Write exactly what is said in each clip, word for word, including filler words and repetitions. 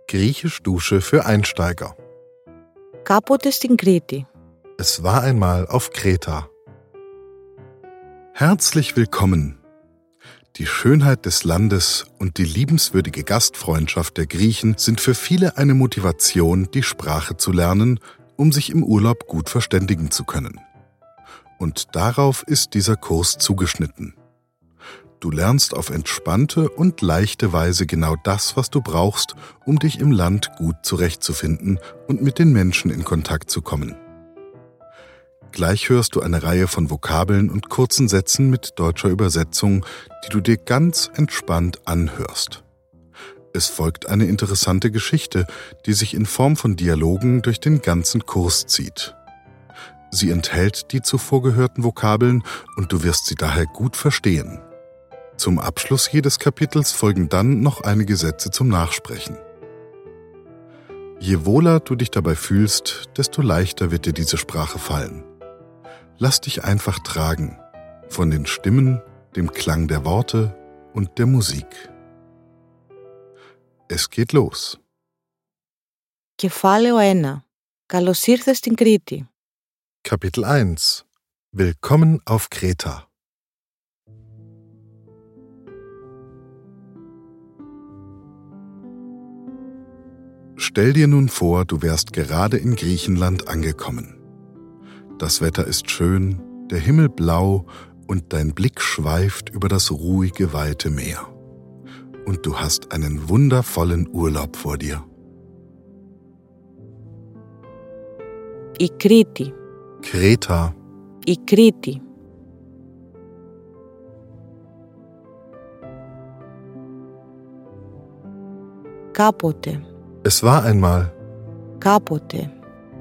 Griechisch-Dusche für Einsteiger. Κάποτε στην Κρήτη. Es war einmal auf Kreta. Herzlich willkommen. Die Schönheit des Landes und die liebenswürdige Gastfreundschaft der Griechen sind für viele eine Motivation, die Sprache zu lernen, um sich im Urlaub gut verständigen zu können. Und darauf ist dieser Kurs zugeschnitten. Du lernst auf entspannte und leichte Weise genau das, was du brauchst, um dich im Land gut zurechtzufinden und mit den Menschen in Kontakt zu kommen. Gleich hörst du eine Reihe von Vokabeln und kurzen Sätzen mit deutscher Übersetzung, die du dir ganz entspannt anhörst. Es folgt eine interessante Geschichte, die sich in Form von Dialogen durch den ganzen Kurs zieht. Sie enthält die zuvor gehörten Vokabeln und du wirst sie daher gut verstehen. Zum Abschluss jedes Kapitels folgen dann noch einige Sätze zum Nachsprechen. Je wohler du dich dabei fühlst, desto leichter wird dir diese Sprache fallen. Lass dich einfach tragen, von den Stimmen, dem Klang der Worte und der Musik. Es geht los. Κεφάλαιο ένα. Καλώς ήρθες στην Κρήτη. Kapitel eins. Willkommen auf Kreta. Stell dir nun vor, du wärst gerade in Griechenland angekommen. Das Wetter ist schön, der Himmel blau und dein Blick schweift über das ruhige, weite Meer. Und du hast einen wundervollen Urlaub vor dir. Η Κρήτη. Kreta. Η Κρήτη. Κάποτε. Es war einmal. Κάποτε.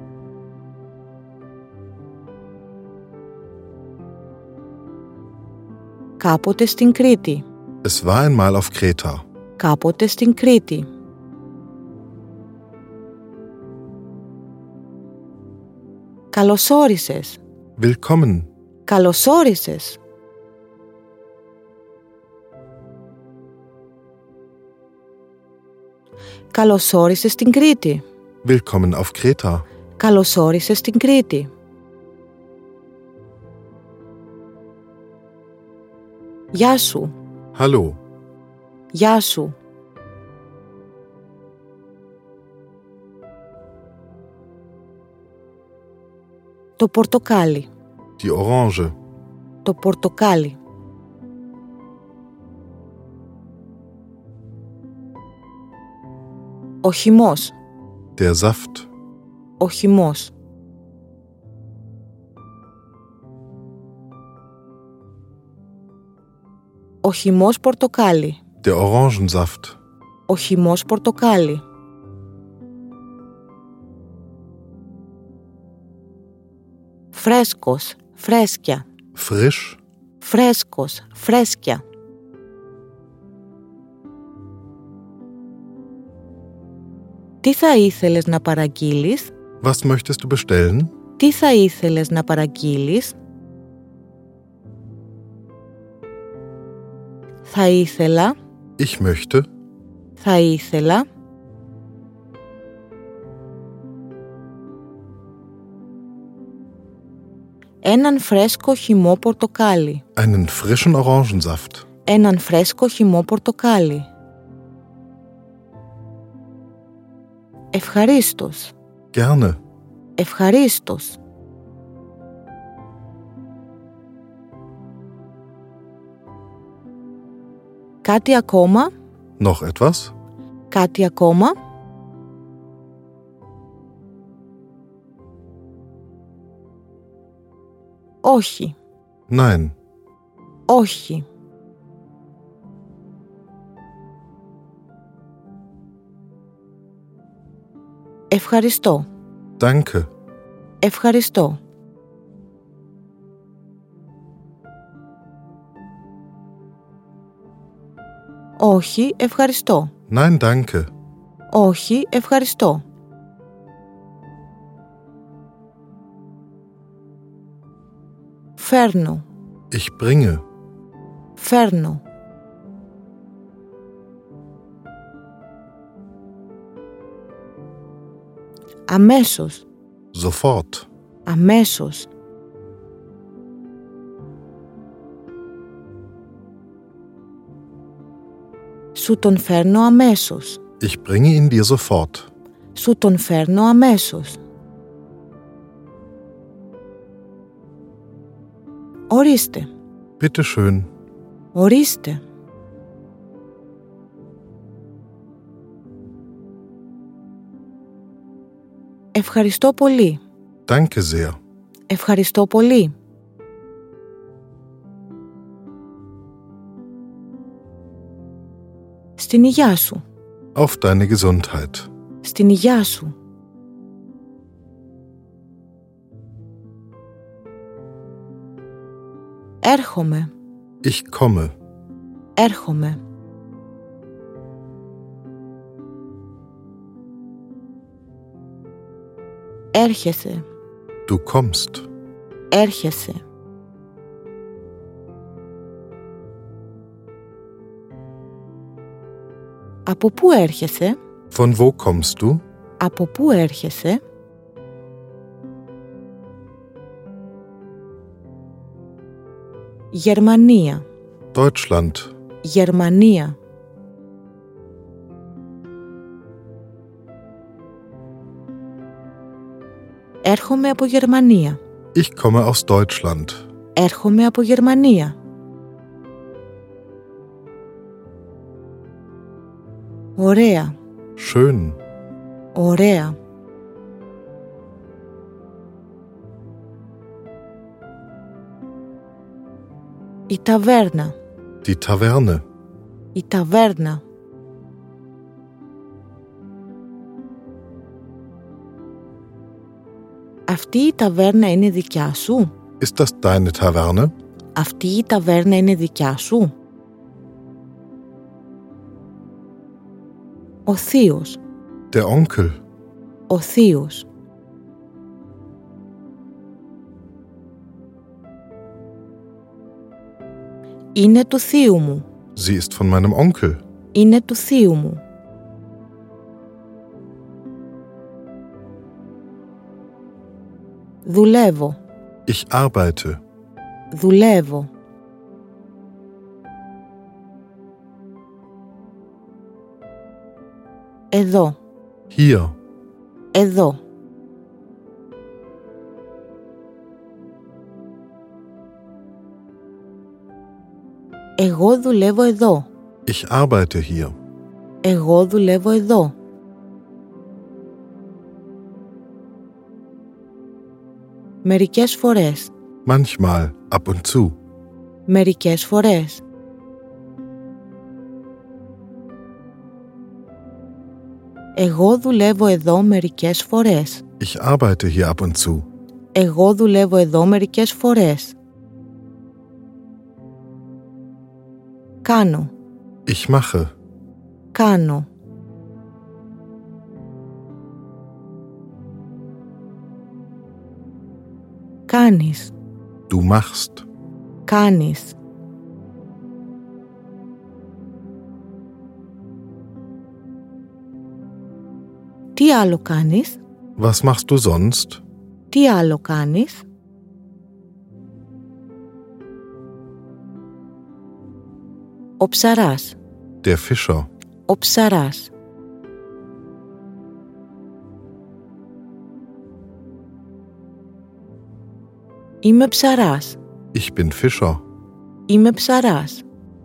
Κάποτε στην Κρήτη. Es war einmal auf Kreta. Κάποτε στην Κρήτη. Καλώς όρισες. Willkommen. Καλώς όρισες. Καλώς όρισες στην Κρήτη. Willkommen auf Kreta. Καλώς όρισες στην Κρήτη. Γεια σου. Hallo. Γεια σου. Το πορτοκάλι. Die Orange. Το πορτοκάλι. Ο χυμός. Der Saft. Ο χυμός. Ο χυμός πορτοκάλι. Der Orangensaft. Ο χυμός πορτοκάλι. Φρέσκος, φρέσκια. Frisch. Φρέσκος, φρέσκια. Τι θα ήθελες να παραγγείλεις? Was möchtest du bestellen? Τι θα ήθελες να παραγγείλεις? Θα ήθελα. Ich möchte. Θα ήθελα. Έναν φρέσκο χυμό πορτοκάλι. Einen frischen Orangensaft. Έναν φρέσκο χυμό πορτοκάλι. Ευχαρίστως. Gerne. Ευχαρίστως. Κάτι ακόμα? Noch etwas? Κάτι ακόμα? Όχι. Nein. Όχι. Ευχαριστώ. Danke. Ευχαριστώ. Όχι, ευχαριστώ. Nein, danke. Όχι, ευχαριστώ. Φέρνω. Ich bringe. Φέρνω. Αμέσως. Sofort. Αμέσως. Σου τον φέρνω αμέσως. Ich bringe ihn dir sofort. Σου τον φέρνω αμέσως. Ορίστε. Bitte schön. Ορίστε. Ευχαριστώ πολύ. Danke sehr. Ευχαριστώ πολύ. Στην υγειά σου. Auf deine Gesundheit. Στην υγειά σου. Έρχομαι. Ich komme. Έρχομαι. Έρχεσαι. Du kommst. Έρχεσαι. Από πού έρχεσαι? Von wo kommst du? Από πού έρχεσαι? Γερμανία. Deutschland. Γερμανία. Έρχομαι από Γερμανία. Ich komme aus Deutschland. Έρχομαι από Γερμανία. Ωραία. Schön. Ωραία. Η ταβέρνα. Die Taverne. Η ταβέρνα. Αυτή η ταβέρνα είναι δικιά σου? Ist das deine Taverne? Αυτή η ταβέρνα είναι δικιά σου? Ο θείος. Der Onkel. Ο θείος. Είναι του θείου μου. Sie ist von meinem Onkel. Είναι του θείου μου. Δουλεύω. Ich arbeite. Δουλεύω. Εδώ. Hier. Εδώ. Εγώ δουλεύω εδώ. Ich arbeite hier. Εγώ δουλεύω εδώ. Μερικές φορές. Manchmal, ab und zu. Μερικές φορές. Εγώ δουλεύω εδώ μερικές φορές. Ich arbeite hier ab und zu. Εγώ δουλεύω εδώ μερικές φορές. Κάνω. Ich mache. Κάνω. Κάνεις. Du machst. Κάνεις. Τι άλλο κάνεις? Was machst du sonst? Τι άλλο κάνεις? Ο ψαράς. Der Fischer. Ο ψαράς. Είμαι ψαράς. Ich bin Fischer. Είμαι ψαράς.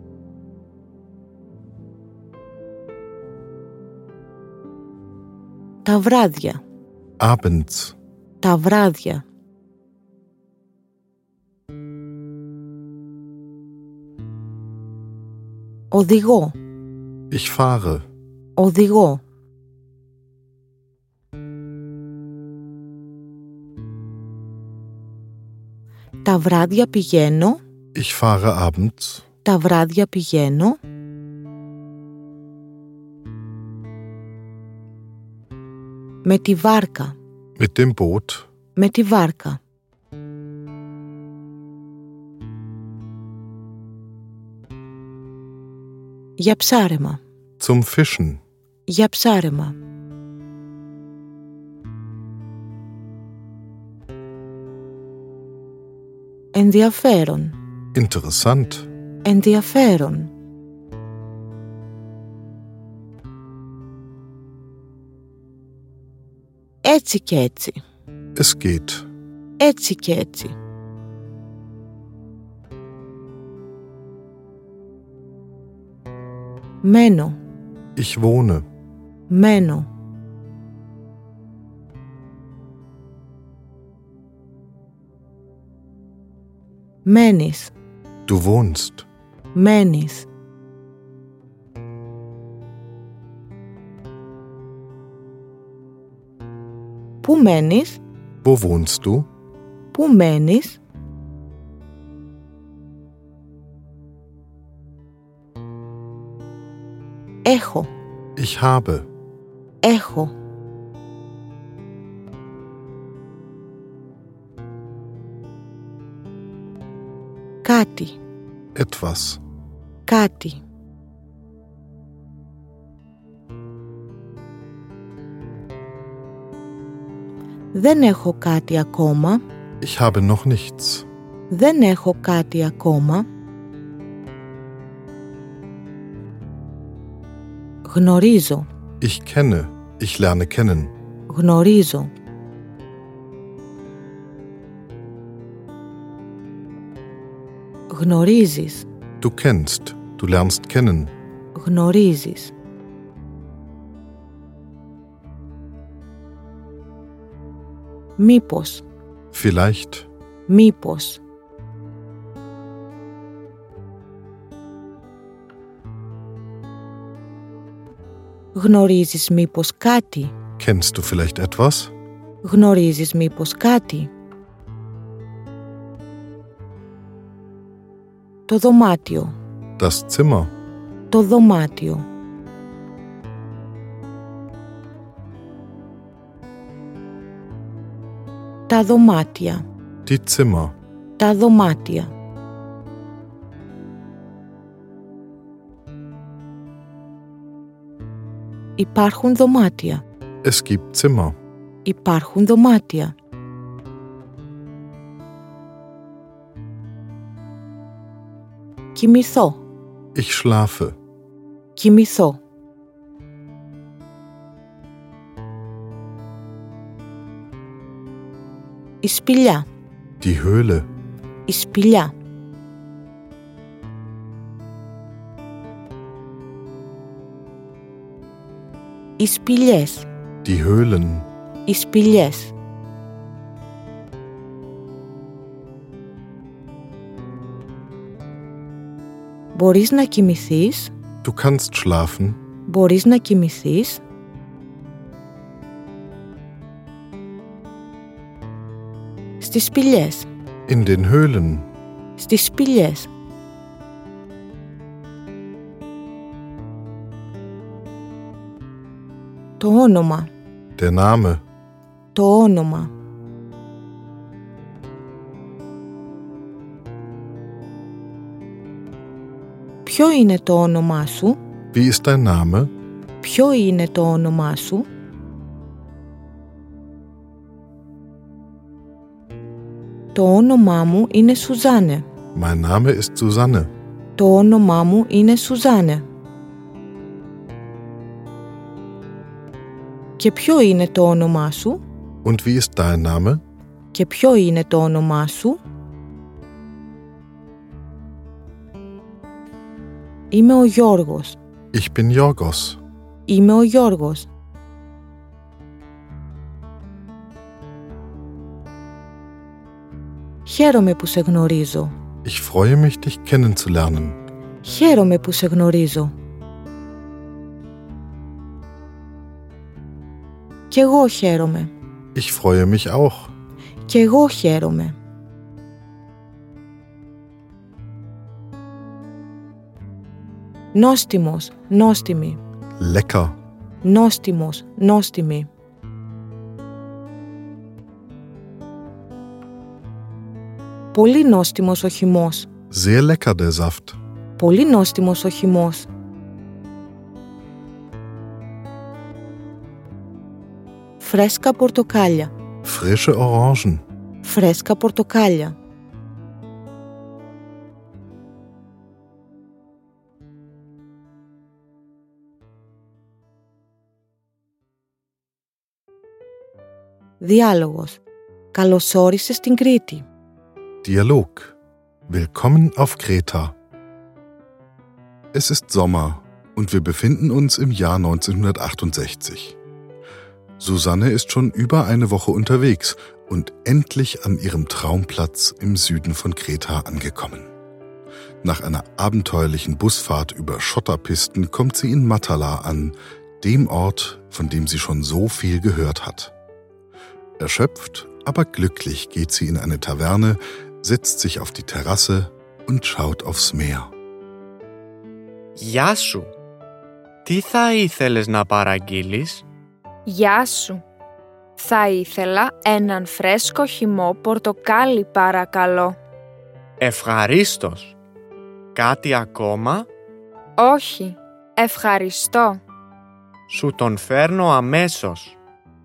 Τα βράδια. Abends. Τα βράδια. Οδηγώ. Ich fahre. Οδηγώ. Τα βράδια πηγαίνω. Ich fahre abends. Τα βράδια πηγαίνω. Με τη βάρκα. Mit dem Boot. Με τη βάρκα. Για ψάρεμα. Zum Fischen. Για ψάρεμα. Ενδιαφέρον. Interessant. Ενδιαφέρον. Έτσι και έτσι. Es geht. Έτσι και έτσι. Μένω. Ich wohne. Μένω. Μένεις. Du wohnst. Μένεις. Πού μένεις? Wo wohnst du? Πού μένεις? Έχω. Ich habe. Έχω. Κάτι. Etwas. Κάτι. Δεν έχω κάτι ακόμα. Ich habe noch nichts. Δεν έχω κάτι ακόμα. Γνωρίζω. Ich kenne. Ich lerne kennen. Γνωρίζω. Γνωρίζεις. Du kennst. Du lernst kennen. Γνωρίζεις. Μήπως. Vielleicht. Μήπως. Γνωρίζεις μήπως κάτι? Kennst du vielleicht etwas? Γνωρίζεις μήπως κάτι? Το δωμάτιο. Das Zimmer. Το δωμάτιο. Τα δωμάτια. Die Zimmer. Τα δωμάτια. Υπάρχουν δωμάτια. Es gibt Zimmer. Υπάρχουν δωμάτια. Κοιμηθώ. Ich schlafe. Κοιμηθώ. Η σπηλιά. Die Höhle. Η σπηλιά. Οι σπηλιές. Die Höhlen. Οι σπηλιές. Μπορείς να κοιμηθείς? Du kannst schlafen. Μπορείς να κοιμηθείς? Στις σπηλιές. In den Höhlen. Στις σπηλιές. Το όνομα. Der Name. Το όνομα. Ποιο είναι το όνομά σου? Wie ist dein Name? Ποιο είναι το όνομά σου? Το όνομά μου είναι Σουζάνε. Mein Name ist Susanne. Το όνομά μου είναι Σουζάνε. Και ποιο είναι το όνομά σου? Und wie ist dein Name? Και ποιο είναι το όνομά σου? Είμαι ο Γιώργος. Ich bin Jorgos. Είμαι ο Γιώργος. Χαίρομαι που σε γνωρίζω. Ich freue mich, dich kennenzulernen. Χαίρομαι που σε γνωρίζω. Κι εγώ χαίρομαι. Ich freue mich auch. Κι εγώ χαίρομαι. Νόστιμος, νόστιμη. Lecker. Νόστιμος, νόστιμη. Πολύ νόστιμος ο χυμός. Sehr lecker der Saft. Πολύ νόστιμος ο χυμός. Φρέσκα πορτοκάλια. Frische Orangen. Φρέσκα πορτοκάλια. Διάλογος. Καλώς όρισες στην Κρήτη. Dialog. Willkommen auf Kreta. Es ist Sommer und wir befinden uns im Jahr neunzehnhundertachtundsechzig. Susanne ist schon über eine Woche unterwegs und endlich an ihrem Traumplatz im Süden von Kreta angekommen. Nach einer abenteuerlichen Busfahrt über Schotterpisten kommt sie in Matala an, dem Ort, von dem sie schon so viel gehört hat. Erschöpft, aber glücklich geht sie in eine Taverne, setzt sich auf die Terrasse und schaut aufs Meer. Γεια σου. Τι θα ήθελες να παραγγείλεις? Γεια σου. Θα ήθελα έναν φρέσκο χυμό πορτοκάλι παρακαλώ. Ευχαρίστως. Κάτι ακόμα? Όχι, ευχαριστώ. Σου τον φέρνω αμέσως.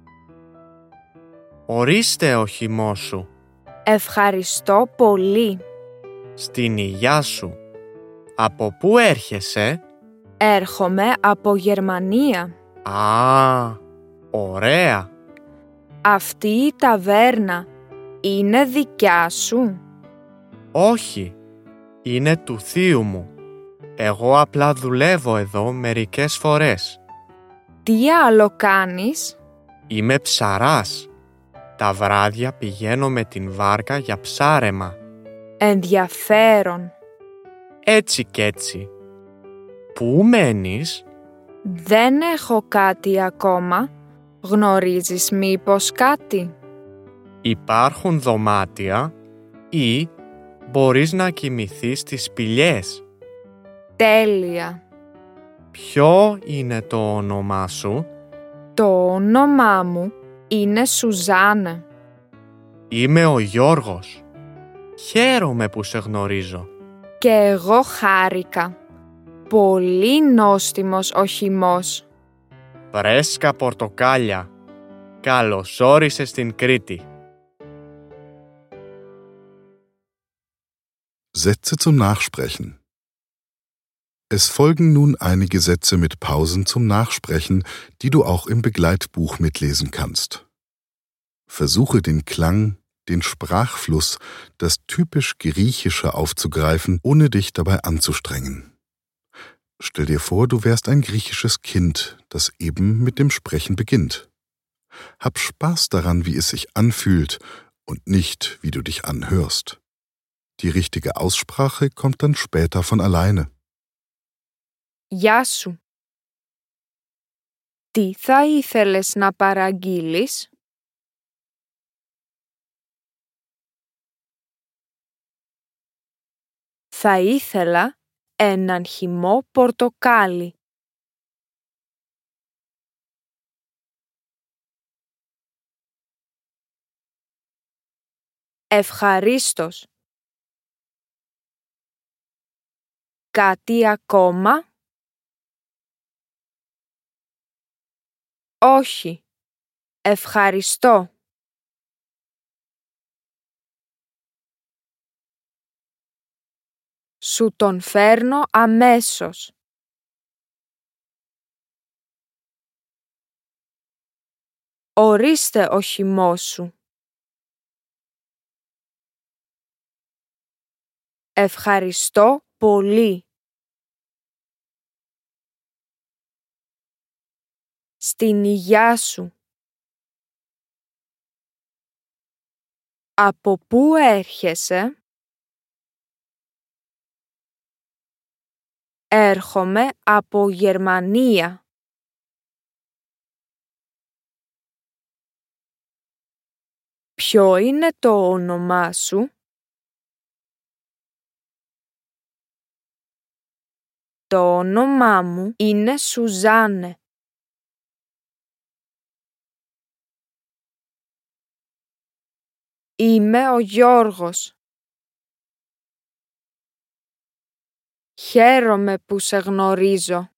Ορίστε ο χυμός σου. Ευχαριστώ πολύ. Στην υγειά σου. Από πού έρχεσαι? Έρχομαι από Γερμανία. Α, ωραία. Αυτή η ταβέρνα είναι δικιά σου? Όχι, είναι του θείου μου. Εγώ απλά δουλεύω εδώ μερικές φορές. Τι άλλο κάνεις? Είμαι ψαράς. Τα βράδια πηγαίνω με την βάρκα για ψάρεμα. Ενδιαφέρον. Έτσι κι έτσι. Πού μένεις? Δεν έχω κάτι ακόμα. Γνωρίζεις μήπως κάτι? Υπάρχουν δωμάτια ή μπορείς να κοιμηθείς στις σπηλιές. Τέλεια. Ποιο είναι το όνομά σου? Το όνομά μου είναι Σουζάνε. Είμαι ο Γιώργος. Χαίρομαι που σε γνωρίζω. Και εγώ χάρηκα. Πολύ νόστιμος ο χυμός. Φρέσκα πορτοκάλια. Καλώς όρισες στην Κρήτη. Sätze zum Nachsprechen. Es folgen nun einige Sätze mit Pausen zum Nachsprechen, die du auch im Begleitbuch mitlesen kannst. Versuche den Klang, den Sprachfluss, das typisch Griechische aufzugreifen, ohne dich dabei anzustrengen. Stell dir vor, du wärst ein griechisches Kind, das eben mit dem Sprechen beginnt. Hab Spaß daran, wie es sich anfühlt und nicht, wie du dich anhörst. Die richtige Aussprache kommt dann später von alleine. Γεια σου. Τι θα ήθελες να παραγγείλεις? Θα ήθελα έναν χυμό πορτοκάλι. Ευχαρίστως. Κάτι ακόμα? Όχι. Ευχαριστώ. Σου τον φέρνω αμέσως. Ορίστε ο χυμός σου. Ευχαριστώ πολύ. Στην υγειά σου. Από πού έρχεσαι? Έρχομαι από Γερμανία. Ποιο είναι το όνομά σου? Το όνομά μου είναι Σουζάνε. Είμαι ο Γιώργος. Χαίρομαι που σε γνωρίζω.